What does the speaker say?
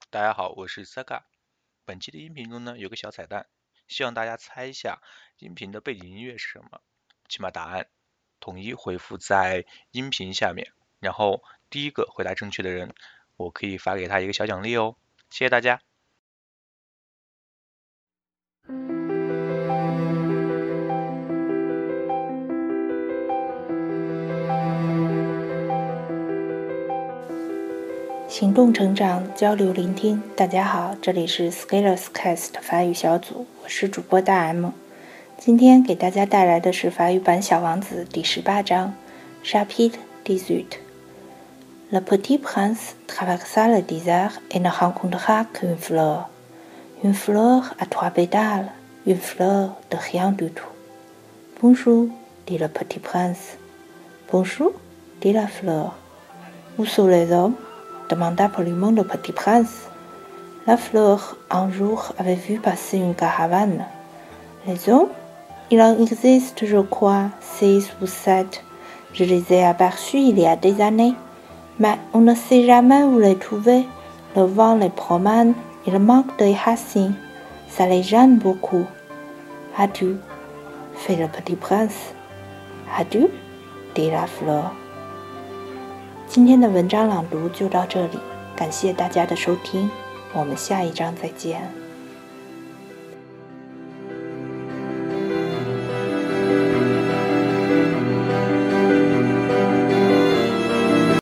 大家好，我是 Saka。本期的音频中呢有个小彩蛋，希望大家猜一下音频的背景音乐是什么。请把答案统一回复在音频下面，然后第一个回答正确的人，我可以发给他一个小奖励哦。谢谢大家。 行动成长，交流聆听。大家好，这里是 Scalers Cast 法语小组，我是主播大 M。今天给大家带来的是法语版《小王子》第18章 Chapitre 18。Le petit prince traversa le désert et ne rencontra qu'une fleur. Une fleur à 3 pétales, une fleur de rien du tout. Bonjour, dit le petit prince. Bonjour, dit la fleur. Où sont les hommes? Demanda poliment le petit prince. La fleur, un jour, avait vu passer une caravane. Les hommes? Il en existe, je crois, 6 ou 7. Je les ai aperçus il y a des années. Mais on ne sait jamais où les trouver. Le vent les promène, il manque de racines. Ça les gêne beaucoup. Adieu, fait le petit prince. Adieu, dit la fleur.今天的文章朗读就到这里，感谢大家的收听，我们下一章再见。